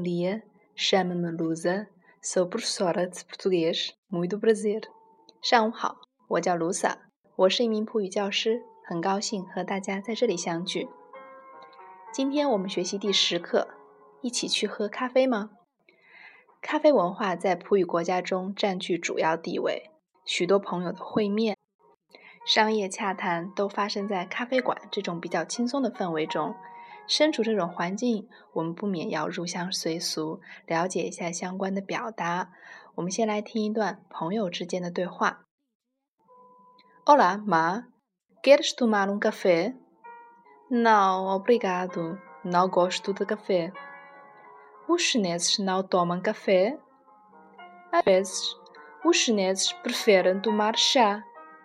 dia, chamo-me Lusa, sou professora de português, muito prazer. 上午好，我叫卢萨，我是一名普语教师，很高兴和大家在这里相聚。今天我们学习第10课，一起去喝咖啡吗？咖啡文化在普语国家中占据主要地位，许多朋友的会面、商业洽谈都发生在咖啡馆这种比较轻松的氛围中。身处这种环境，我们不免要入乡随俗，了解一下相关的表达。我们先来听一段朋友之间的对话。Olá, Ma. Queres tomar um café? Não, obrigado. Não gosto de café. Os chineses não tomam café? Às vezes, os chineses preferem tomar chá.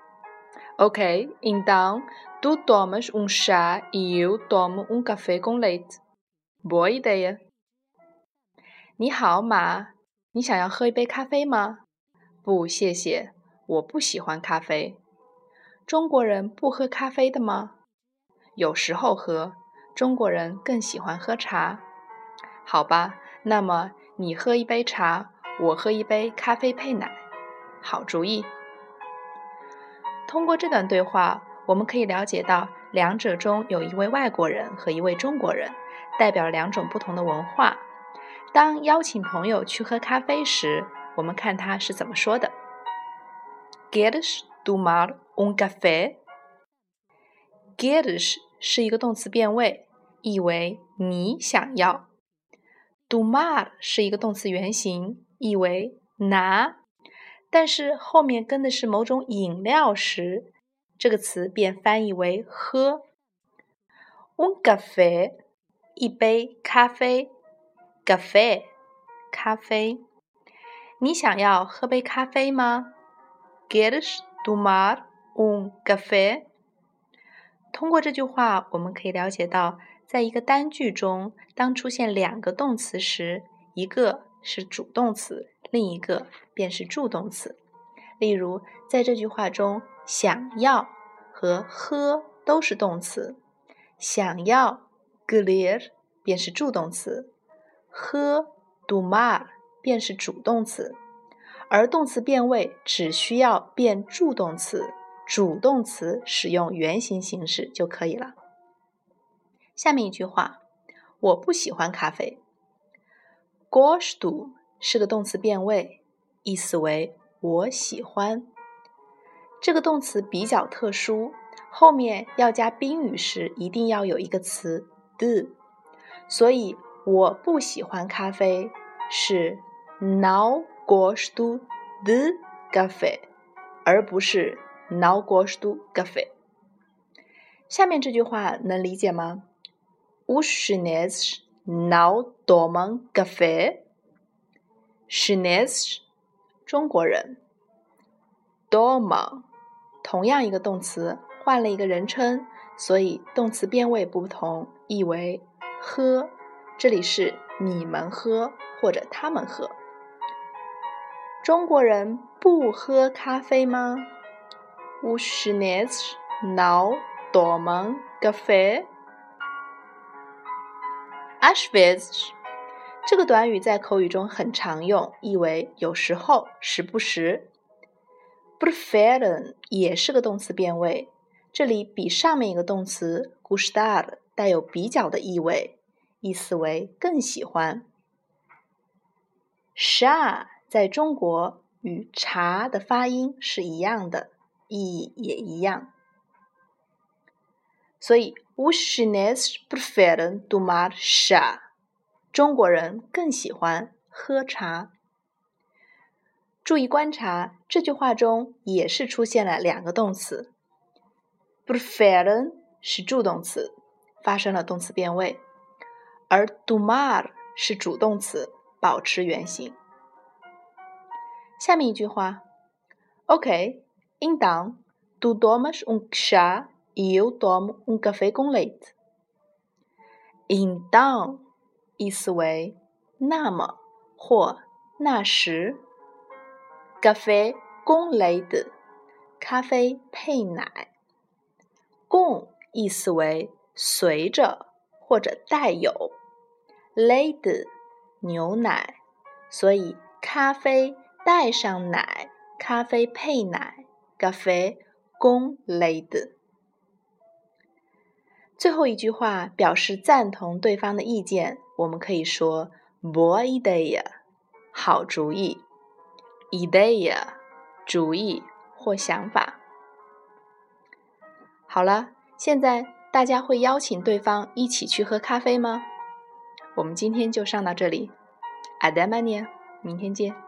Ok, então tu tomas um chá e eu tomo um café com leite. Boa ideia. 你好，马，你想要喝一杯咖啡吗？不，谢谢，我不喜欢咖啡。中国人不喝咖啡的吗？有时候喝，中国人更喜欢喝茶。好吧，那么你喝一杯茶，我喝一杯咖啡配奶。好主意。通过这段对话，我们可以了解到两者中有一位外国人和一位中国人，代表两种不同的文化。当邀请朋友去喝咖啡时，我们看他是怎么说的。Queres tomar um café? Queres 是一个动词变位，意为你想要。Tomar 是一个动词原形，意为拿。但是后面跟的是某种饮料时，这个词便翻译为喝。Un café 一杯咖啡 ，café 咖啡。你想要喝杯咖啡吗？ Queres tomar un café? 通过这句话，我们可以了解到，在一个单句中，当出现两个动词时，一个是主动词，另一个便是助动词。例如，在这句话中，想要和喝都是动词，想要 querer 便是助动词，喝 tomar 便是主动词，而动词变位只需要变助动词，主动词使用原形形式就可以了。下面一句话，我不喜欢咖啡。Gosto 是个动词变位，意思为我喜欢。这个动词比较特殊，后面要加宾语时一定要有一个词 de， 所以我不喜欢咖啡是 não gosto de café， 而不是 não gosto café。 下面这句话能理解吗？ Os chineses não tomam café。 Chineses 中国人， toma 同样一个动词换了一个人称，所以动词变位不同，意为喝，这里是你们喝或者他们喝。中国人不喝咖啡吗？ Os chineses não tomam café。 Às vezes 这个短语在口语中很常用，意为有时候，时不时。Preferem 也是个动词变位，这里比上面一个动词 gustar 带有比较的意味，意思为更喜欢。chá 在中国与茶的发音是一样的，意义也一样。所以 os chineses preferem tomar chá， 中国人更喜欢喝茶。注意观察，这句话中也是出现了两个动词。Preferem 是助动词，发生了动词变位，而 tomar 是主动词，保持原形。下面一句话 Ok, então tu tomas um chá e eu tomo um café com leite。 Então 意思为那么或那时。Café com leite 咖啡配奶。com 意思为随着或者带有。leite 牛奶，所以咖啡带上奶，咖啡配奶 ，café con leite。最后一句话表示赞同对方的意见，我们可以说 boa ideia， 好主意 ，ideia， 主意或想法。好了，现在大家会邀请对方一起去喝咖啡吗？我们今天就上到这里，阿德玛尼亚，明天见。